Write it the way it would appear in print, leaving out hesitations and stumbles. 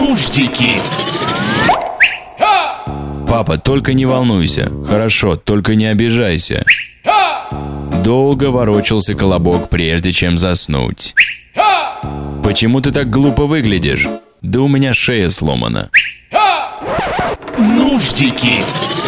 Нуждики. Папа, только не волнуйся. Хорошо, только не обижайся. Долго ворочался Колобок, прежде чем заснуть. Почему ты так глупо выглядишь? Да у меня шея сломана. Нуждики.